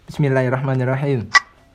Bismillahirrahmanirrahim.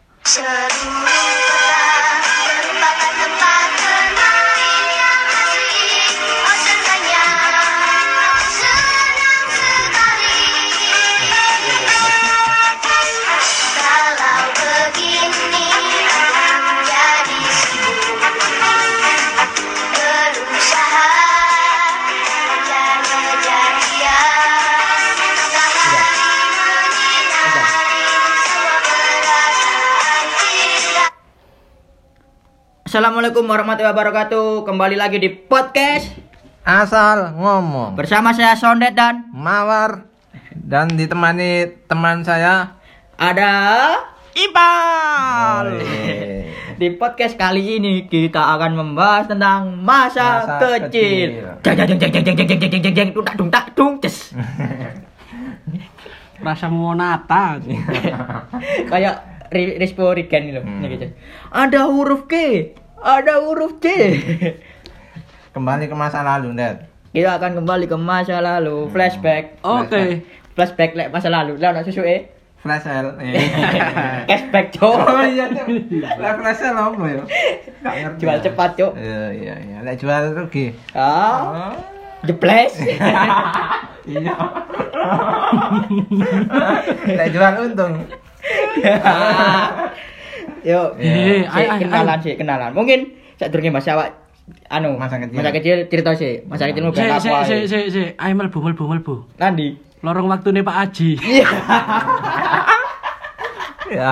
Assalamualaikum warahmatullahi wabarakatuh. Kembali lagi di podcast Asal ngomong bersama saya Sondet dan Mawar, dan ditemani teman saya ada Ipal. Oh, Di podcast kali ini kita akan membahas tentang masa kecil. Jeng jeng jeng jeng jeng jeng jeng jeng jeng dung tak dung tak dung ces. Rasa monata. Kayak Rispo Rigan gitu. Gitu. Ada huruf K, ada huruf C. Kembali ke masa lalu, Dad. Kita akan kembali ke masa lalu, flashback. Oke. Flashback lek masa lalu. Lah nak susuke. Flash sale. Cashback, Cok. Oh iya, Cok. Lah flash sale apa ya? Enggak ngerti. Jual cepat, Cok. Iya. Lek jual rugi. Ah. Jeples. Iya. Lek jual untung. Yuk, kenalan kenalan. Mungkin sadurunge Mas awak Masa kecil cerita sih. Masa kecilmu ben apa? Ayo mlebu. Nandi? Lorong waktune Pak Haji. Iya. Ya.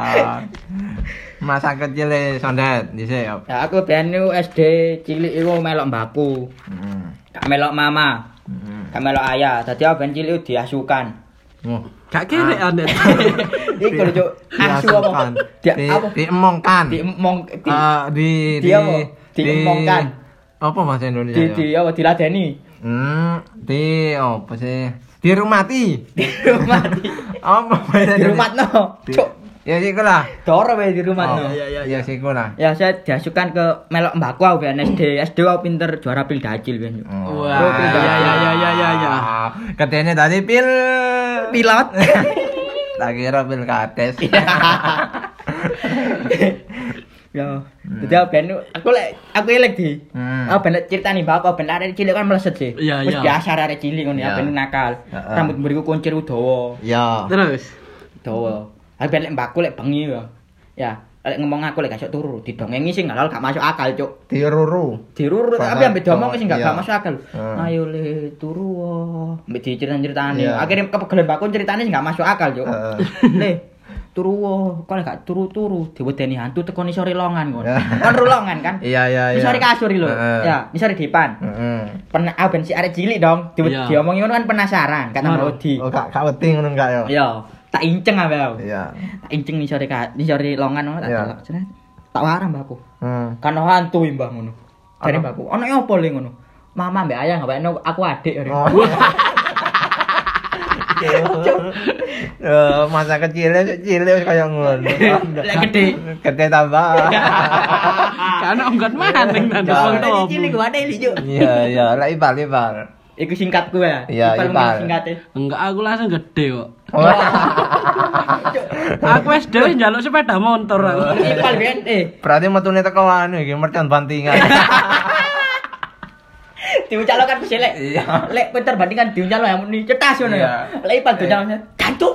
Masa kecil Sondet dhisik. Ya aku ben SD cilik iku melok mbakku. Gak melok mama. Gak melok ayah. Dadi aku ben cilik diasukan. Oh, Gak kere ane. Iku lho, Cuk. Asu apa? Diemongkan. Diemongkan. Apa bahasa Indonesia? Apa diladeni? Apa sih? Dirumati. Apa bahasa Indonesia? Dirumatno. Cuk. Ya siku lah. Doro wae dirumatno. Ya siku lah. Ya saya diasukan ke melok mbakku aku ben SD. SD aku pinter juara pil dacil ben. Wah, ya. Katanya tadi Pilot. Tak kira pil kades. Ya, jadi aku elek di. Aku ben critani mbakku ben arek cilik kan meleset sih. Wis biasa arek cilik ngono ya ben nakal. Rambut mburiku kuncir dawa. Ya. Terus Dawa. Aku ben lek mbakku lek bengi ya. Ya, lek ngomong aku lek gak iso turu, didongengi sing ngalal gak masuk akal, Cuk. Diruru. Tapi ambek diomong sing gak masuk akal. Ayo le turu. Ambek diceritain-ceritani. Akhirnya kepegelen mbakku ceritane sing gak masuk akal, Cuk. Le turu kok gak turu-turu diwedeni hantu teko nisore longan kon. Kon rulongan kan? Iya. Nisore kasur lho. Ya, nisore dipan. Pernah ben si arek cilik dong, diomongi ngono kan penasaran, kata wedi. Oh, gak wedi ngono enggak ya? Iya, tak inceng ae aku. Iya. Tak inceng nisore longan ngono tak delok. Tak warah mbakku. Kan hantu mbah ngono. Jare mbakku, "Ono opo le ngono?" Mama mbak ayah ngawekno aku adik. Masa kecilnya kayak ngono. Lek gede tambah. kan onggot maning nang Ada cilik gua ada lijo. Iya, lek ipal. Iku singkatku ya. Iya, Ipal. Singkate. Enggak, aku langsung gede kok. Aku wis dhewe njaluk sepeda motor aku. Ipal ben Berarti metune teko anu iki mercon bantingan. diuncalkan wis lek. Lek Peter bandingan diuncalno ya muni cetas ngono ya. Lek Ipal diuncalno jantung.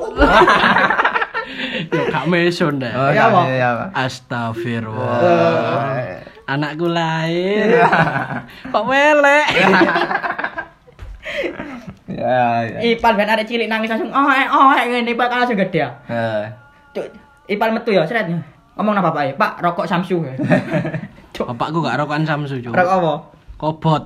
Yo gak meson dah. Oh, iya. Astagfirullah. Anakku lahir. Kok welek. Ya. Ipal ben arek cilik nangis langsung ngene Ipal kan langsung gede ya. Cuk, Ipal metu ya sret. Ngomong nang bapake, "Pak, rokok Samsu." Bapakku gak rokokan Samsu, Cuk. Rokok apa? Kobot.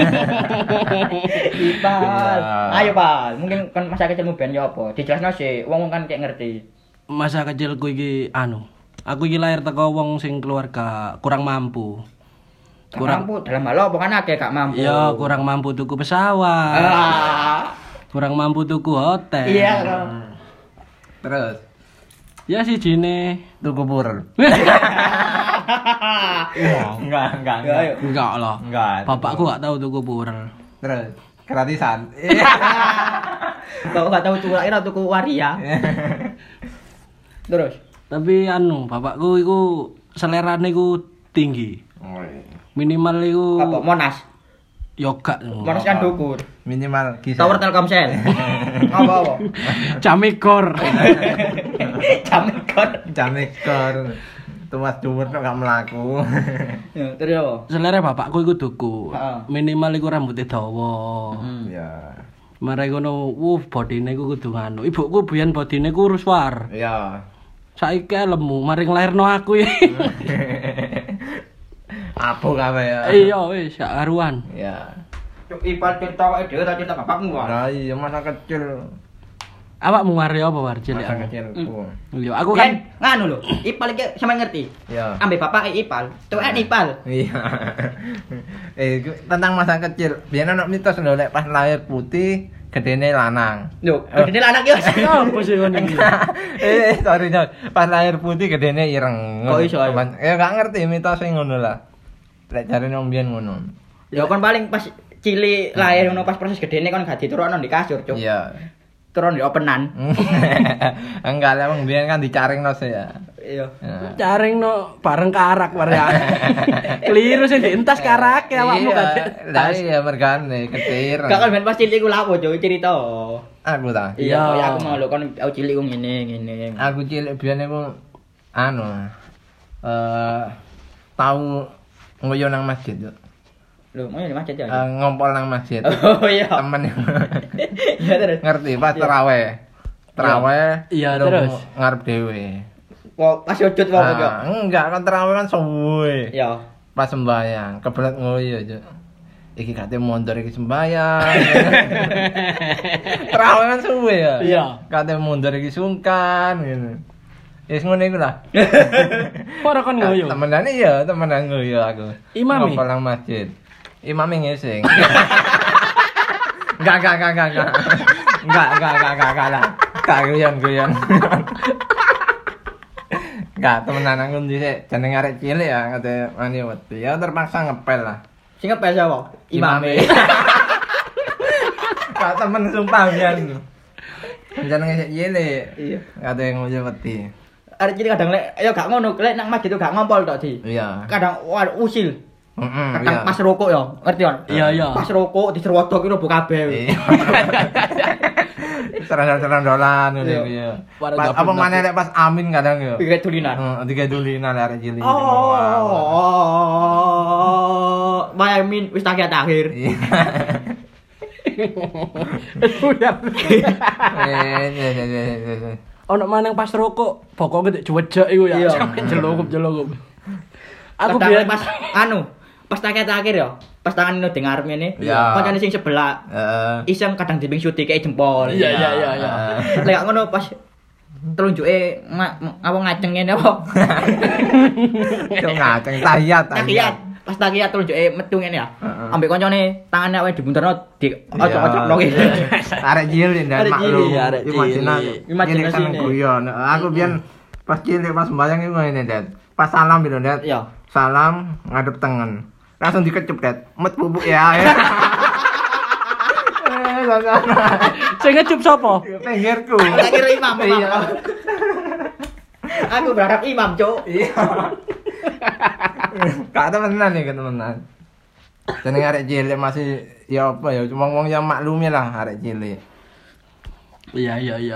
Ipal. Ayo, Pal. Mungkin kan masa kecilmu ben yo apa? Dijelasno sih, wong kan kayak ngerti. Masa kecilku iki aku iki lahir teko wong sing keluarga kurang mampu. Kurang mampu dalam hal apa kan akeh gak mampu. Iya, kurang mampu tuku pesawat. Kurang mampu tuku hotel. Iya. Terus ya si jine tuku pur. Enggak. Enggak lah. Enggak. Bapakku gak tahu tuku pur. Terus gratisan. Kok gak tahu tuku akhirnya tuku waria. Terus. Tapi bapakku iku selerane iku tinggi. Oh iya. Minimal iku Apa Monas? yoga. Monas kan dukur. Minimal kisah. Tower Telkomsel. Apa? Jamekor. Jamekor. Tumas dhuwur kok gak mlaku. Ya, terus apa? Selera bapakku iku duku. Heeh. Minimal iku rambutnya dawa. Ya. Mare ngono, bodine iku kudu nganu. Ibuku biyen bodine kurus war. Ya. Saiki lemu, mari nglairno aku ya. Apa kabeh ya? Iya wis, gak karuan. Ya. Cuk ipal cerita awake dhewe ta cerita bapakmu wae. Nah, iya masa kecil. Awakmu ngare apa war cilik? Masa kecilku. Iya, aku kan nganu lho, ipal iki sampe ngerti. Ya. Ambek bapak ipal, tuwek ipal. Iya. Tentang masa kecil, biyen ana mitos lho lek pas lahir putih, gedene lanang. Lho, gedene anak yo. apa sih ngono iki? Sorry, pas lahir putih gedene ireng. Kok iso, ya? Ya gak ngerti mitos sing ngono lah. Lek jarene wong biyen ngono. Ya kon paling pas cilik lahir ngono pas proses gedene kon gak diturunno di kasur, Cuk. Iya. Turun di openan. Enggak lah wong biyen kan dicaringno sih ya. Iya. Caringno bareng karak war ya. Keliru sih dientas karak ya awakmu Iya, kan. lah iya mergane ketir. Gak kan ben pas cilik ku lapo, Cuk, cerita. Aku ta. Iya, Iya. ya aku mau lho kon aku cilik ku ngene. Aku cilik biyen iku tahu ngoyo nang masjid yo. Lho, mau di masjid ya. Ngompol nang masjid. Oh iya. Temen Iya terus. ngerti pas tarawih. Tarawih. Iya, lu terus. ngarep dhewe. Kok pas sujud wae kok. Enggak kan tarawih kan suwe. Iya. Pas sembahyang, kebelet ngoyo yo. Iki kate mondor iki sembahyang. Tarawih kan suwe ya. Iya. Kate mondor iki sungkan ngono. Wis ngono iku lah. Ora kon ngoyo. Temenan ngoyo aku. Imami? Ngompol nang masjid. Imami ngising. Enggak lah. Gak guyon. Enggak, temenan aku dhisik jeneng arek cilik ya, kate wani wedi. Ya terpaksa ngepel lah. Sing ngepel sapa? Imame. Gak temen sumpah biyen. Jenenge sik cilik. Iya. Kate ngoyo wedi. Arek cilik kadang lek ya gak ngono, lek nang masjid gak ngompol tok, Di. Iya. Kadang usil. Kadang iya. pas rokok ya, ngerti kan? Iya. Pas rokok dicerwodok iki robo kabeh. Iya. Serang-serandolan ngono Iya. iku ya. Para Pas gabung apa maneh lek pas amin kadang yo. Iki tulinan. Tiga dulinan arek cilik. Oh. Bayamin wis akhir. Iya. Buyar. Iya. Ono maneng pas rokok, bokoke nek juwejek iku ya. Iya. Sampe jelokup. Aku Kadang biyen pas pas akhir ya, pas tangan ini dengar ngene. Iya. Kancane sing sebelah iseng kadang dibing syuting kayak jempol. Iya. Lek gak ngono pas telunjuke apa ngaceng ngene apa? Cuk ngaceng tahiyat. Pas tahiyat telunjuke metu ngene ya. Ambek koncone tangane awake dibunterno di Iya. ojo-ojo ngene. Arek cilik ndak Arek maklum. cilik, arek cilik. Imajinasi Imajinasine. guyon. Aku biyen pas cilik pas sembahyang iku ngene, Det. Pas salam gitu, Det. Iya. Salam ngadep tengen. Langsung dikecup, Det. Met bubuk ya. sing ngecup sapa? Pinggirku. Tak kira imam. Iya. Aku berharap imam, Cuk. Iya. Kak temenan nih, temenan. Jeneng arek cilik masih ya apa ya, cuma wong yang maklumi lah arek cilik. Iya.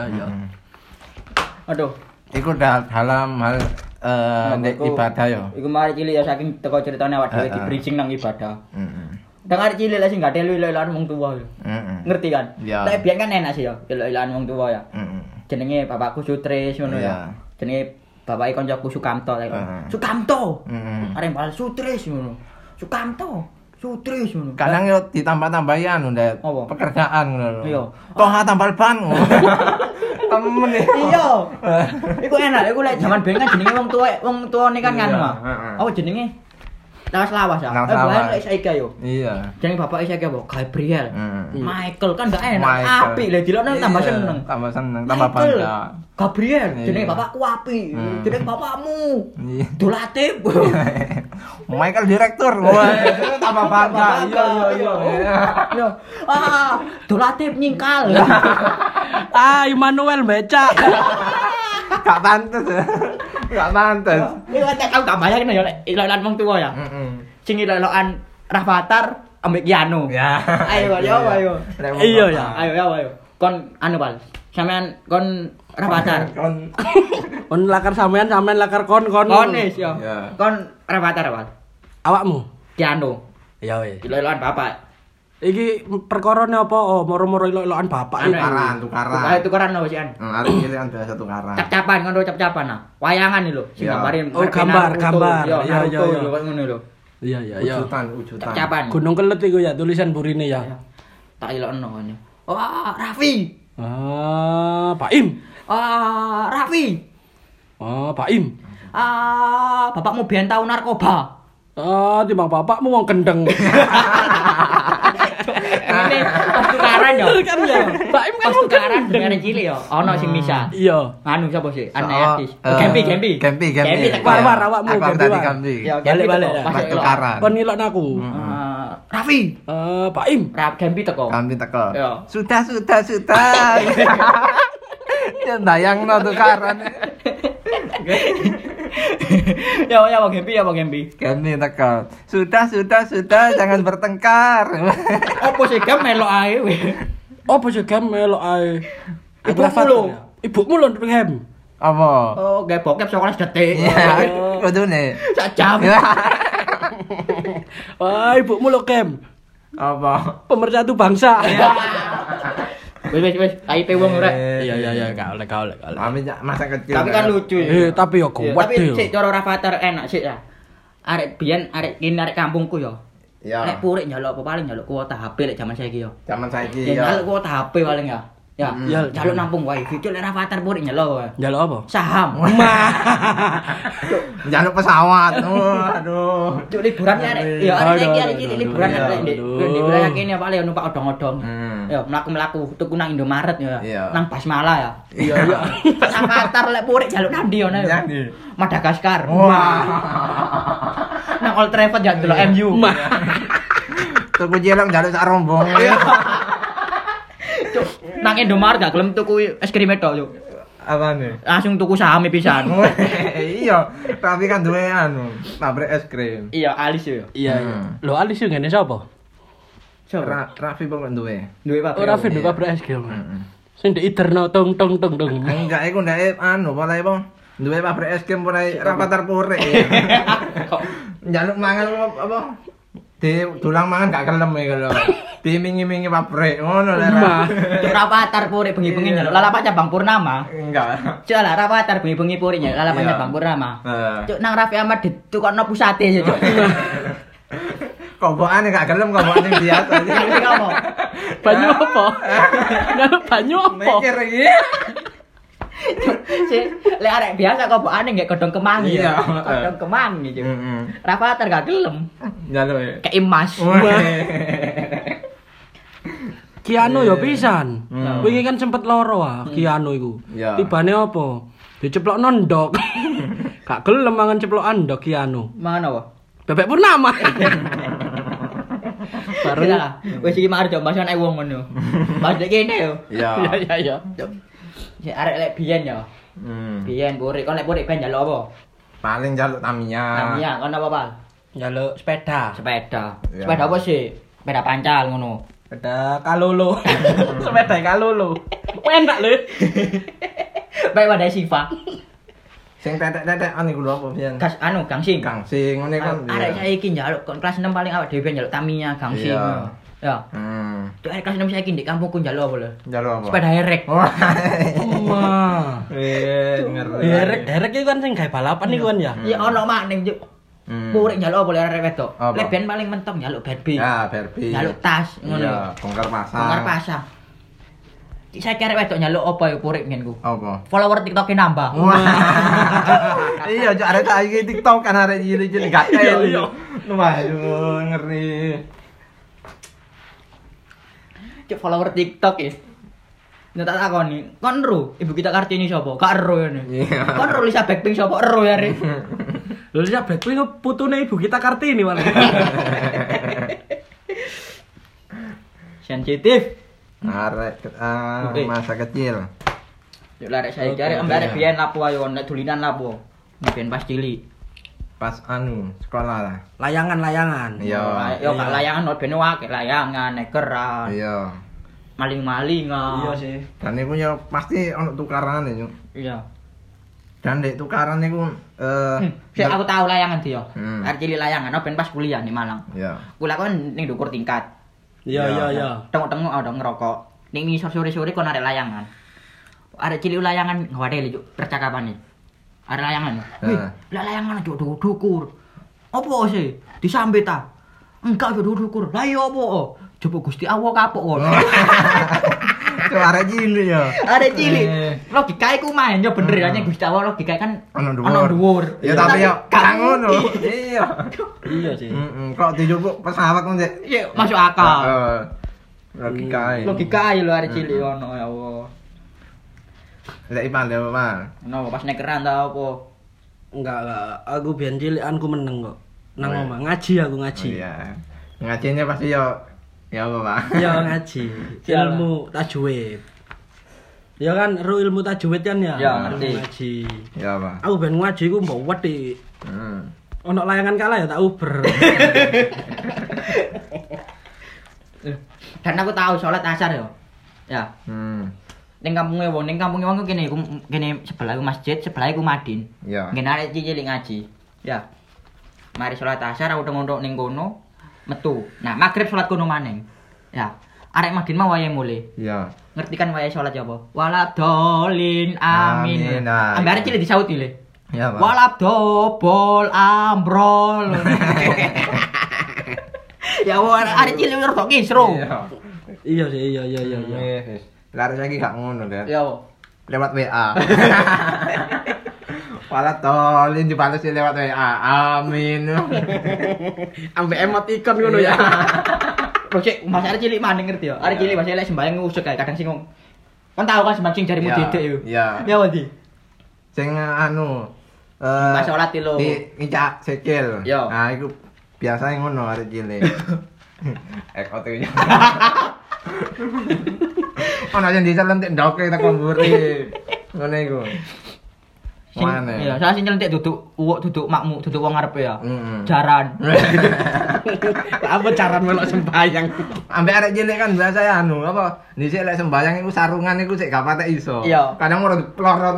Aduh. Iku dalam hal nek ibadah ya. Iku mari cilik ya saking teko ceritane awak dhewe di bridging nang ibadah. Heeh. Dang arek cilik lah sing gak elu-eluan wong tuwa ya. Ngerti kan? Iya. Tapi biyen kan enak sih ya, elu-eluan wong tuwa ya. Heeh. Jenenge bapakku Sutris ngono ya. Jenenge bapake koncoku Sukamto lek. Sukamto. Arek bal Sutris ngono. Sukamto. Sutris ngono. Kadang yo ditambah-tambahi anu Ndet. Apa? Pekerjaan ngono lho. Iya. Toha tambal ban. Temen ya. Iya. Iku enak, iku lek jaman biyen kan jenenge wong tuane kan Iya, nganu mah. heeh. Apa jenenge? Lawas ya. Lawas lawas. Lek saiki yo. Iya. Jenenge bapak saiki apa? Gabriel. Heeh. Michael kan gak enak. Michael. Apik lek dilokno tambah Iya, seneng. Tambah seneng, tambah Michael. bangga. Gabriel, Iya. jenenge bapakku apik. Jenenge bapakmu. Iya. Dolatif. Michael direktur. Wah, tambah bangga. Iya. Yo. Dolatif nyingkal. Immanuel becak. Gak pantes. Gak pantes. Iku aku gak bayangin ya lek ilokan wong tuwa ya. Sing ilokan Rafathar ambek Keanu. Ya. Ayo ayo. Iya ya. Ayo. Kon anu Pal. Sampean kon Rafathar. Kon lakar sampean lakar kon. Kon wis yo. Ya. Kon Rafathar Pal. Awakmu. Keanu. Ya wis. Ilokan bapak. Iki perkorone apa? Oh, moro-moro ilok-ilokan bapak. Tukaran apa sih an? Arek iki kan biasa tukaran. Cap-capan ngono cap-capan nah. Wayangan iki lho, sing gambarin. Oh, gambar. Iya. Ngono lho. Iya. Wujudan. Cap-capan. Gunung Kelet iku ya tulisan burine ya. Tak ilokno ngene. Wah, Raffi. Pak Im. Raffi. Pak Im. Bapakmu biyen tau narkoba. Timbang bapakmu wong kendeng. Ini pas tukaran yo. Kan ya. Pak Im kan Pas tukaran dengan cilik yo. Ono sing misah. Iya. Anu sapa sih? Ane artis. Gempi. War awakmu Aku tadi Gempi. Ya, Balik. Pas tukaran. Kon ilokno aku. Raffi. Pak Im. Gempi teko. Gempi teko. Iya. Sudah. Ya bayangno tukaran. Ya Bang Gempi. Gempi teko. Sudah, jangan bertengkar. Opo sih gem melok ae we. Apa sih gem melok ae? Ibumu lho. Ibumu lho gem. Apa? Oh, gawe bokep 19 detik. Ya, kudune. Sak jam. Wah, ibumu lho gem. Apa? Pemersatu bangsa. Wis, IP wong ora. Iya, gak oleh. Mami masa kecil. Tapi kan lucu. Tapi yo kuat Tapi sik cara Rafathar enak sik ya. Arek biyen arek kampungku yo. Ya. Nek purik njaluk apa paling njaluk kuota HP lek jaman saiki yo. Zaman saiki Ya ya. njaluk kuota HP paling ya. Ya, njaluk nampung wae. Video lek Rafathar purik njaluk wae. Njaluk apa? Saham. Njaluk pesawat. Aduh. Cuk liburan arek. Ya arek saiki arek cilik liburan arek ndek wilayah kene paling numpak odong-odong. Ya mlaku-mlaku tuku nang Indomaret ya. Nang Basmala ya. Iya. Rafathar lek purik njaluk nang ndi ono ya. Madagaskar. Nang Old Trafford ya delok MU. Tuku jelek njaluk sak rombong. Cuk, nang Indomaret gak gelem tuku es krim tok, Cuk. Apane? Langsung tuku saham pisan. Iya, tapi kan duwe anu, pabrik es krim. Iya, alis yo. Iya. Lho alis yo ngene sapa? Raffi pokok duwe. Duwe pabrik. Ora duwe pabrik es krim. Sing diiterno tong. Enggak, iku ndak anu, polahe apa? Duwe pabrik es krim polahe Rafathar purik. Njaluk mangan apa? Dulang mangan gak kelem iku lho. Dimingi-mingi pabrik ngono lho. Rafathar purik bengi-bengi njaluk lalapan cabang Purnama. Enggak. Cuk lah Rafathar bengi-bengi purik njaluk lalapan cabang Purnama. Cuk nang Raffi Ahmad ditukokno pusate ya, Cuk. Kobokane gak gelem kobokane biasa. Banyu apa? Njaluk banyu apa? Mikir iki. Si lek arek biasa kobokane nggak godhong kemangi ya. Iya. Godhong kemangi, Cuk. Rafathar gak gelem. Njaluk. Kayak emas. Keanu yo pisan. Wingi kan sempet loro Keanu iku. Tibane apa? Diceplokno ndok. Gak gelem mangan ceplokan ndok Keanu. Mangan apa? Bebek Purnama. Bareng lah. Wis iki mari coba bahas wong ngono. Bahas kene yo. Iya. Si arek lek biyen yo. Biyen purik, kon lek purik ben njaluk apa? Paling njaluk Tamiya. Tamiya, kon apa, Pal? Njaluk sepeda. Sepeda apa sih? Sepeda pancal ngono. Sepeda kalolo. Sepeda kalolo. Enak lho. Baik wadah Siva. Sing tetek-tetek anu iku lho apa pian? Gas anu gangsing. Gangsing ngene kan. Arek saiki njaluk kon kelas 6 paling awak dhewe njaluk Tamiya gangsing. Ya. Cuk arek kelas 6 saiki ndek kampungku njaluk apa lho? Njaluk apa? Sepeda herek. Ngeri. Herek itu kan sing gawe balapan iku kan ya. Ya ono maning Cuk. Purik njaluk apa lho arek wedok? Lek ben paling mentok njaluk Barbie. Ya, Barbie. Njaluk tas ngono. Iya, bongkar pasang. Bongkar pasang. Saya kira wedok nyaluk apa ya purik ngene ku. Apa? Follower TikTok-e nambah. Iya, cok arek saiki TikTok kan arek cilik-cilik gak teli. Waduh, ngeri. Cuk follower TikTok ya. Nek tak takoni, kon ero ibu kita Kartini sapa? Gak ero ngene. Kon ero Lisa Blackpink sapa? Ero ya, Rek. Lho Lisa Blackpink putune ibu kita Kartini malah. Sensitif. Arek masa kecil. Yo larek saiki arek ambek biyen lapo ayo nek dulinan lapo. Biyen pas cilik. Pas sekolah lah. Layangan. Iya. Yo gak layangan ben akeh layangan, nekeran. Iya. Maling-malingan. Iya sih. Dan iku yo pasti ono tukaran ya. Iya. Dan dek tukaran niku Sik aku tahu layangan dia. Arek cilik layangan ben pas kuliah di Malang. Iya. Kuliah kan ning ndukur tingkat. Iya. Tengok-tengok ada ngerokok. Ning ngisor sore-sore kon arek layangan. Arek cilik layangan ngwadeli juk percakapane. Arek layangan. Wih, lah layangan juk dukur. Opo sih? Disambet ta? Enggak juk dukur. Lah iya opo? Coba Gusti Allah kapok ngono. Itu arek cilik ya. Arek cilik. Logikae ku main yo bener ya Gusti Allah logikae kan Ono dhuwur. Ya tapi yo gak ngono. Iya. Iya sih. Kok dijupuk pesawat kon sik. Iya, masuk akal. Logikae. Logikae lho arek cilik ono ya Allah. Lek Ipan lho, Mas. Ono pas nekeran ta opo? Enggak. Aku biyen cilikanku meneng kok. Nang omah ngaji aku ngaji. Iya. Ngajinya pasti yo ya apa, Pak? Ya ngaji. Ilmu tajwid. Ya kan ro ilmu tajwid kan ya? Ya, ngerti. Ngaji. Ya, Pak. Aku ben ngaji ku mbok wedi. Ono layangan kalah ya tak uber. Dan aku tahu sholat asar yo. Ya. Ning kampunge wong ku kene sebelah ku masjid, sebelah ku Madin. Iya. Ngene arek cilik ngaji. Ya. Mari sholat asar aku ndok ning kono metu. Nah, magrib sholat kono maneng. Ya. Arek Madin mah wayahe mulih. Iya. Ngerti kan wayahe sholat ya apa? Waladolin amin. Ambe arek cilik disauti le. Ya, Pak. Waladobol ambrol. Ya arek cilik rada kisru. Iya sih, iya. Lari lagi gak ngono, Dad. Ya. Lewat WA. Pala tolin dibales lewat WA. Amin. Ambek emoticon ngono ya. Projek Mas arek cilik maning ngerti ya. Arek cilik pas elek sembayang ngusuk kae kadang sing kan tau kan sembayang jarimu dedek yo. Iya. Ya wadi. Sing Pas salat lho. Ngicak sikil. Yo. Nah, iku biasa ngono arek cilik. Ekote. Ono sing dicelentik ndoke teko mburi. Ngono iku. Mana? Iya, saya sing nyelentik duduk uwuk duduk makmu, duduk wong ngarepe ya. Jaran. Apa jaran melok sembayang? Ambek arek cilik kan biasa ya apa? Dhisik lek sembayang iku sarungan iku sik gak patek iso. Iya. Kadang ora diplorot.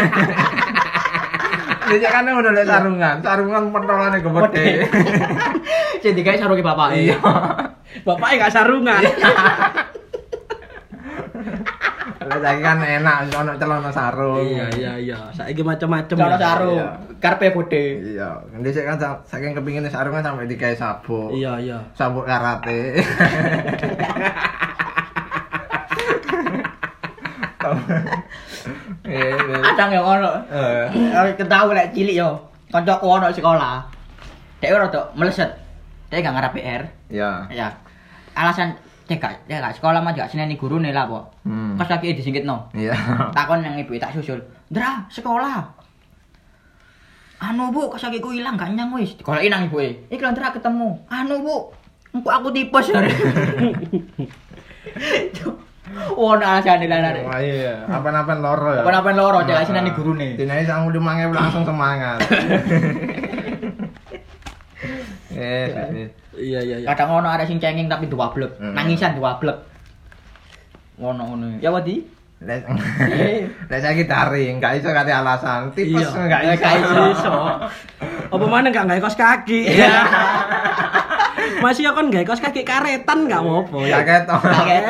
Dhisik kan udah lek sarungan pentolane gede. Sing digawe sarunge bapake. Iya. Bapake gak sarungan. Lek saiki kan enak ono celana sarung. Iya. Saiki macam-macam. Celana sarung. Karepe gede. Iya. Dhisik kan saking kepingine sarungan sampe digawe sabuk. Iya. Sabuk karate. Kadang yang ono. Ketahu lek cilik yo. Kancaku ono sekolah. Dek rada meleset. Dek gak ngarep PR. Iya. Ya. Alasan cek gak sekolah mah gak seneni gurune lah kok. Pas lagi disingkitno. Iya. Takon yang ibu tak susul. Ndra, sekolah. Anu Bu, kasakiku ilang gak nyang wis. Digoleki nang ibuke. Iki lho Ndra ketemu. Anu Bu, engko aku tipes. Oh, alasane lanare. Wah iya, apa-apan loro ya. Apa-apan loro cek seneni gurune. Dinane sangu 5.000 langsung semangat. Iya. Kadang ono arek sing cengeng tapi duwablek. Nangisan duwablek. Ngono. Ya wadi. Lek saiki daring, gak iso kate alasan. Tipes gak iso. Apa maneh gak gawe kos kaki. Masih ya kon gawe kos kaki karetan gak apa-apa. Ya ketok.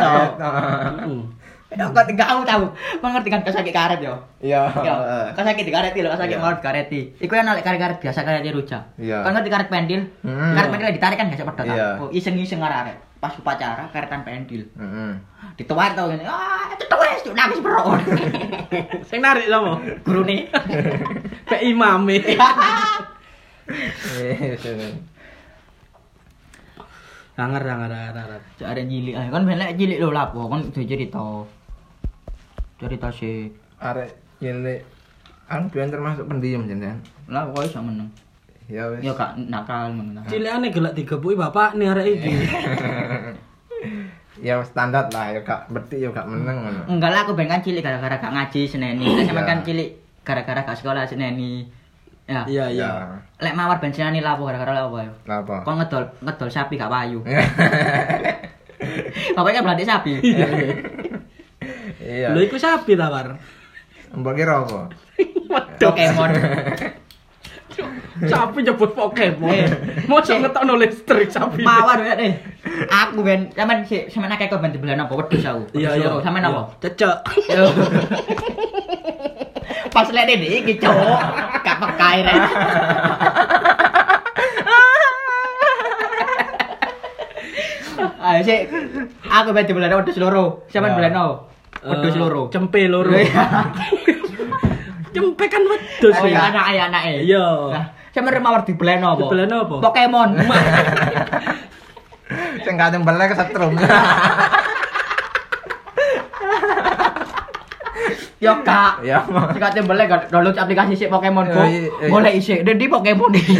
Kok enggak tahu. Mengerti kan kos kaki karet yo. Iya. Kos kaki dikareti lho, kos kaki mau dikareti. Iku yang nek karet biasa karet ruja. Kan ngerti karet pendil. Karet pendil ditarik kan gak sepedot. Oh, iseng-iseng arek. Pas upacara karetan pendil. Dituwar to ngene. Ah, wis nangis bro. Sing narik sapa? Gurune. Pak imame. Sangar. Jare cilik ae kan ben lek cilik lho lapo kon kudu cerita. Cerita sih. Arek cilik aku biyen termasuk pendiam jenengan. Lah kok iso meneng. Ya wis. Ya gak nakal ngono. Cilikane gelek digepuki bapak nih arek iki. Ya standar lah, ya gak berarti ya gak meneng ngono. Enggak lah, aku ben kan cilik gara-gara gak ngaji seneni. Sampeyan kan cilik gara-gara gak sekolah seneni. Ya. Iya. Lek mawar ben seneni lapo gara-gara lapo ya. Napa? Kok ngedol sapi gak payu. Pokoknya berarti sapi. Iya. Lho iku sapi ta, War? Mbok kira apa? Pokemon. Sapi nyebut Pokemon. Mosok ngetokno listrik sapi. Mawar ya deh. Aku ben sampean akeh kok ben dibelan apa wedhus aku. Iya. Sampean apa? Cecek. Pas lek iki cowok gak pekae rek. Ayo sik. Aku ben dibelan wedhus loro. Sampean belan apa? Wedhus loro. Cempe loro. Cempe kan wedhus ya. Anake. Iya. Nah, sampean mawar dibelan apa? Dibelan apa? Pokemon. Sing gak nyembelih kesetrum. Yo kak, Ya. sing kate mbelek download aplikasi sik Pokemon Go. Golek isik, di Pokemon iki.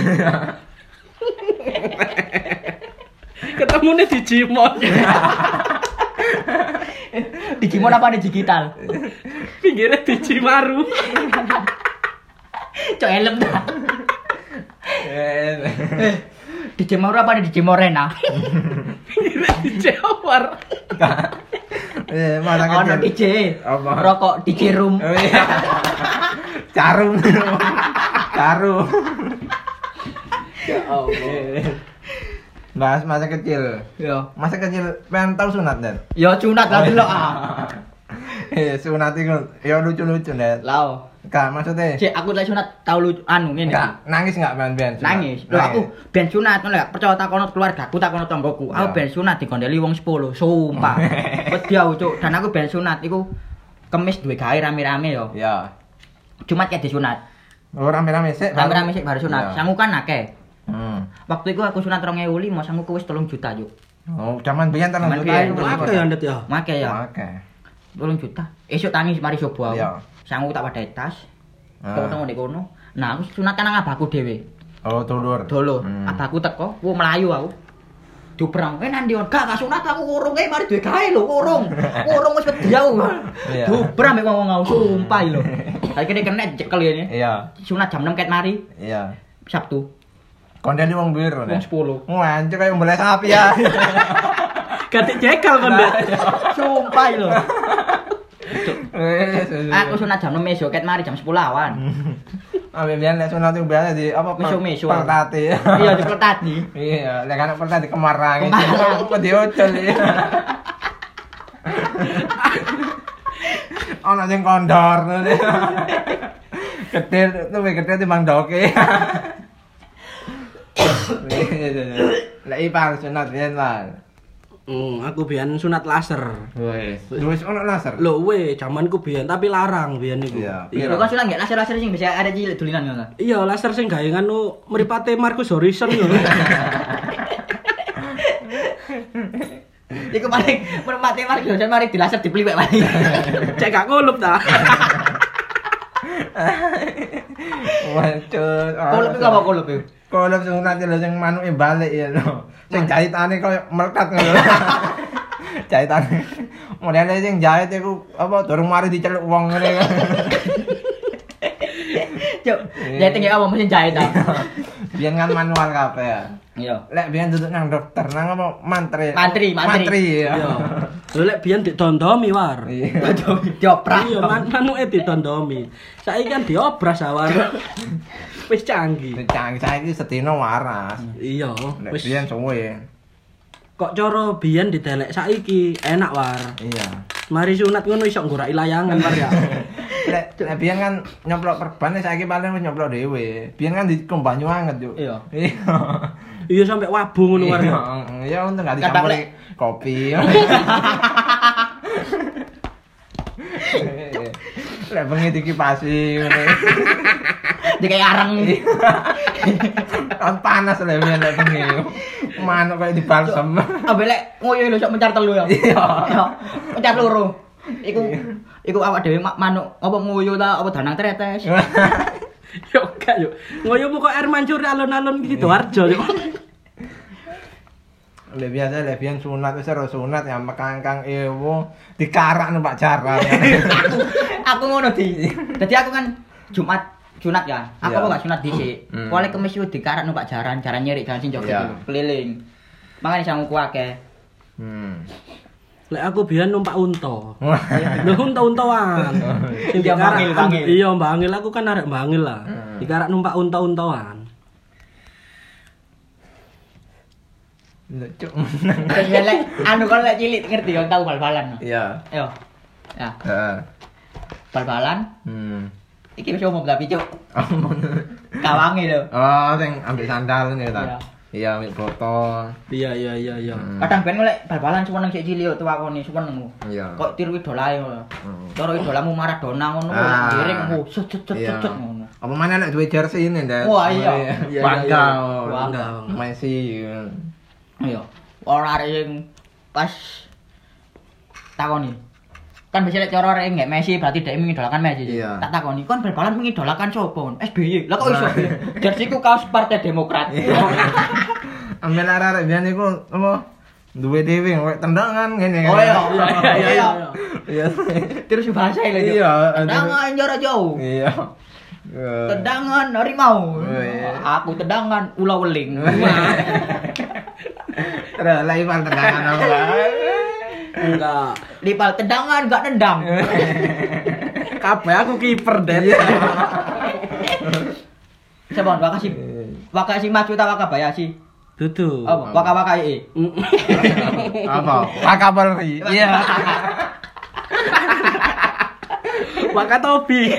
Ketemune Digimon. Digimon apa nih digital? Pinggirnya Digimaru. Cok elem dah. Digimon apa nih Digimorena? Pinggirnya Dijawar. Mana Ono kecil. DJ. Apa? Rokok DJ room. Oh iya. Carum. Carum. Ya Allah. Bahas masa kecil. Yo. Masa kecil pengen tahu sunat, Den? Yo sunat lah delok ah. Sunat itu ya lucu-lucu, Den. Lao. Kak, maksudnya Cek aku lek sunat tau lu anu ngene. enggak nangis enggak ben sunat? Nangis. Lho aku ben sunat ngono lek percaya takono keluargaku takono tanggoku. Aku ben sunat dikondeli wong 10, sumpah. Wedi aku cuk, dan aku ben sunat iku kemis duwe gawe rame-rame yo. Ya. Jumat ya disunat. Oh, rame-rame sik. Rame-rame sik baru sunat. Ya. Sangu kan akeh. Waktu Waktu itu aku sunat 2005, sanguku wis 3 juta yuk. Oh, zaman biyen tenan Zaman juta biyen, itu. Akeh ya ndet ya. Make ya. Oke. 3 juta. Esuk tangi mari coba aku. Iya. Sangu tak wadai tas. Foto ngene kono. Nah, aku sunat kan nang abahku dhewe. Oh, dulur. Dolo. Abahku teko, ku melayu aku. Dubrang, nandi on, gak sunat aku urung mari duwe gawe lho, urung. Urung wis wedi aku. Iya. Dubrang mek ngomong aku sumpah lho. Saiki nek kena cekel ya. Iya. Sunat jam 6 ket mari. Iya. Sabtu. Kondene wong biru, Wong 10. Wancuk kayak mbeleh sapi ya. Ganti jekal kan ndet. Sumpah lho. Aku sunat jam 6 esuk ket mari jam 10 awan. Ambil biyen nek sunat itu biasa di apa? Mesu-mesu. Pertati. Iya di pertati. Iya, lek anak pertati kemarang. Kemarang. Kok diocol ya. Ono sing kondor ngene. Gede luwih gede timbang doke. Lek ipang sunat biyen lah. Aku biyen sunat laser. Wis ono laser. Lho jamanku biyen tapi larang biyen iku. Iya. Lho kok sunat nggak laser-laser sing bisa ada cilik dulinan ngono. Iya, laser sing gawe nganu mripate Marcus Horizon ngono. Iku paling merpati mari dosen mari dilaser dipliwek paling. Cek gak ngulup ta. Wancuk. Kolup iku apa kolup iku? Kolup sunat lho sing manuke balik ya lho. Sing jahitane koyo melekat ngono. Jahitane. Modele sing jahit iku apa durung mari diceluk wong ngene kan. Cuk, jahit iki apa mesin jahit ta? Biyen kan manual kabeh ya. Iya. Lek biyen duduk nang dokter nang apa mantri. Mantri. Ya. Iya. Lho lek biyen didondomi war. Iya. Dioprak. Iya, manuke didondomi. Saiki kan diobras awar. Wis canggih. Canggih saiki sedina waras. Iya, Lek wis biyen suwe. kok cara biyen didelek saiki enak war. Iya. Mari sunat ngono iso ngoraki layangan war ya. Lek biyen kan nyoplok perban saiki paling wis nyoplok dhewe. Biyen kan dikombahnya anget yo. Iya. Iya. Iya sampe wabu ngono war ya. Iya untung gak Kadang dicampuri kopi. Lek bengi dikipasi ngene. Dikai areng. Kan panas lek biyen lek bengi. Manuk kayak dibalsem. Ambek lek ngoyo lho sok mencar telu ya. Iya. Mencar loro. Iku awak dhewe manuk apa ngoyo ta apa danang tretes. Yo gak yo. Ngoyo kok air mancur alun-alun iki Sidoarjo yo. Lek biasa lek biyen sunat wis ora sunat ya mekangkang ewo dikarak numpak jaran. Aku ngono di. Dadi aku kan Jumat sunat ya. Aku kok gak sunat dhisik. Pole kemis yo dikarak numpak jaran nyerik jalan sing joget keliling. Makane sangu ku akeh. Lek aku biyen numpak unta. Lho unta-untaan. Sing dia bangil. Iya, bangil aku kan arek bangil lah. Dikarak numpak unta-untaan. Lucu. Lek anu kalau lek cilik ngerti yo tau bal-balan. Iya. Yo. Ya. Heeh. Bal-balan. Iki wis umum tapi cuk. Kawange lho. Oh, sing ambil sandal ngene ta. Iya, ambil botol. Iya. Kadang ben lek bal-balan suweneng sik cilik tuwa kene suweneng. Iya. Kok tiru idolae ngono. Cara idolamu Maradona ngono giring cet ngono. Apa mana nek duwe jersey ini, Ndak? Wah, iya. Bangga. Messi. Ayo, ora arek sing pas takoni. Kan biasanya cara arek nggak Messi berarti dhek mengidolakan Messi. Iya. Tak takoni, kon bal-balan mengidolakan sapa? SBY. Lah kok iso? Jersiku kaos Partai Demokrat. Ambil arek biyen iku apa? Duwe dhewe koyo tendangan ngene. Oh iya. Iya. Terus bahasa lho. Iya. Tendangan jarak jauh. Iya. Tendangan harimau. Aku tendangan ulah weling. Terus laipan tendangan apa? Enggak. Lipal tendangan enggak nendang. Kabeh aku kiper, Det. Sebon Wakashi maju ta Wakabayashi? Dudu. Apa? Waka-wakai. Apa? Wakabari. Iya. Wakatobi.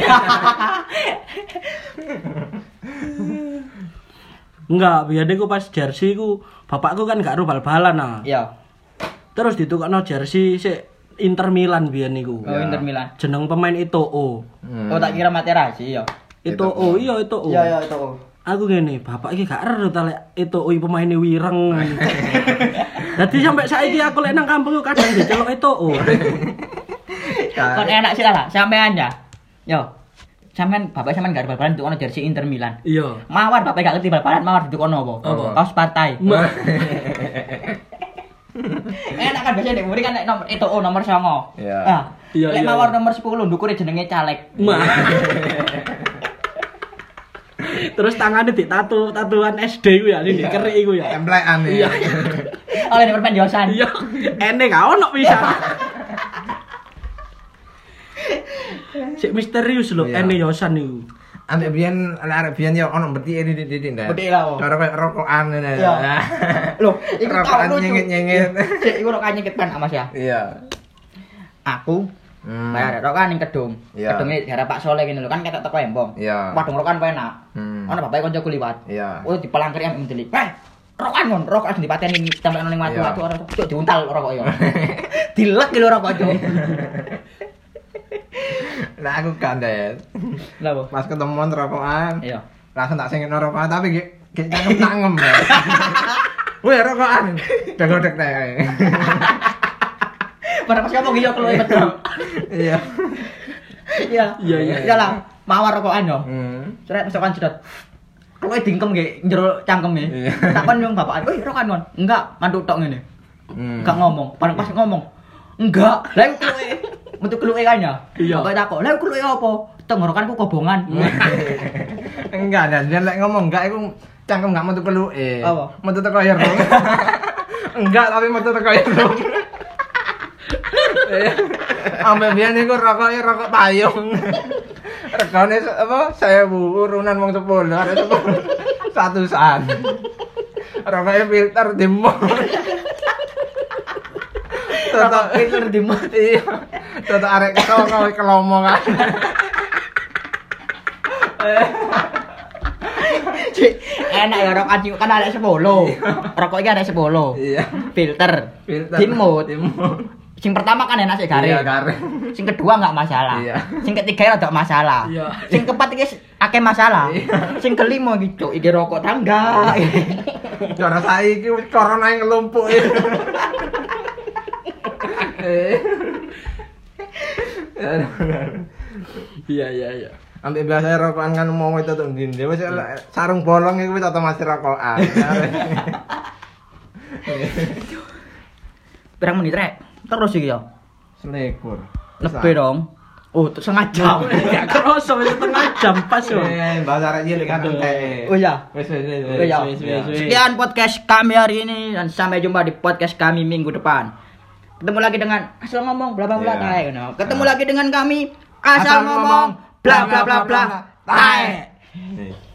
Enggak, biyen iku pas jersey ku bapakku kan gak ro bal-balan nah. Iya. Terus ditukokno jersey sik Inter Milan biyen niku. Oh, Inter Milan. Jeneng pemain Eto'o. Oh, tak kira Materazzi ya. Eto'o, iya Eto'o. Iya, Eto'o. Aku ngene, bapak iki gak ero ta lek Eto'o pemaine wireng. Dadi sampai saiki aku lek nang kampung kadang diceluk Eto'o. Kon enak sih lah, sampean ya. Yo. Sampean bapak sampean gak ada bal-balan untuk ono jersey Inter Milan. Iya. Mawar bapak gak ngerti bal-balan mawar duduk ono apa? Kaos partai. Enak kan biasanya nek muri kan nek nomor itu nomor 9. Iya. Ah. Lek mawar nomor 10 ndukure jenenge caleg. Terus tangannya tatuan SD ku ya, ini kerik iku ya. Templekan Iya. Oleh nomor penjosan. Iya. Ene gak ono bisa. Sik misterius lho, ene yosan niku. Ambek biyen arek biyen yo ono betike titik-titik ndak. Betik lah. Cara koyo rokokan ngene. Iya. Loh, iku rokokan tau nyengit-nyengit. Sik iku rokokan nyengit kan Mas ya. Iya. Aku bayar rokokan ning Kedung. Kedunge daerah Pak Soleh ngene lho kan ketok teko Embong. Iya. Padung rokokan penak. Ono bapake kancaku liwat. Iya. Oh dipelangkeri ambek mendelik. Rokokan kon, rokok asli dipateni tempel ning watu-watu ora cuk diuntal rokok yo. Dilek lho rokok cuk. Nah aku kandet. Lah apa? Pas ketemuan rokokan. Iya. Langsung tak sengitno rokokan tapi gek cangkem-cangkem. Weh rokokan. Degodek teh. Pada pas ngomong iya keluwe betul. Iya. Iya. Ya lah, mawar rokokan yo. Seret rokokan jedot. Keluwe dingkem nggih njero cangkeme. Takon yang bapak, "Wih, rokokan kon." Enggak, mantuk tok ngene. Enggak ngomong. Pas ngomong. Enggak. Lah keluwe. Metu keluwe kan ya? Bapak takok, "Lah keluwe apa?" Tenggorokanku kobongan. Enggak, dan lek ngomong enggak iku cangkem enggak metu keluke. Apa? Metu teko irung. Enggak, tapi metu teko irung. Ambil biyen niku rokoke rokok payung. Regane apa? 1000 urunan wong 10, ada 10. Satusan. Rokoke filter demo. Rokok filter demo. Iya. Toto arek ketoko kelomo kan. Enak ya rokok anjing kan ada 10. Rokok iki ada 10. Iya. Filter. Dimut. Sing pertama kan enak sih garing. Iya, garing. Sing kedua enggak masalah. Iya. Sing ketiga rada masalah. Iya. Sing keempat iki akeh masalah. Sing kelima iki cuk iki rokok tangga. Cara saiki wis corona ngelumpuk. Iya. Ambek biasa rokokan kan mau itu tuh ndine wis sarung bolong iku wis otomatis rokokan. Pirang menit rek? Terus iki ya. Selekur. Lebih dong. Oh, setengah jam. Gak kerasa setengah jam pas yo. Bahasa arek cilik kan teh. Oh iya. Wis. Oh iya. Sekian podcast kami hari ini dan sampai jumpa di podcast kami minggu depan. Ketemu lagi dengan asal ngomong bla bla bla tae ngono. Ketemu lagi dengan kami asal ngomong bla bla bla bla tae.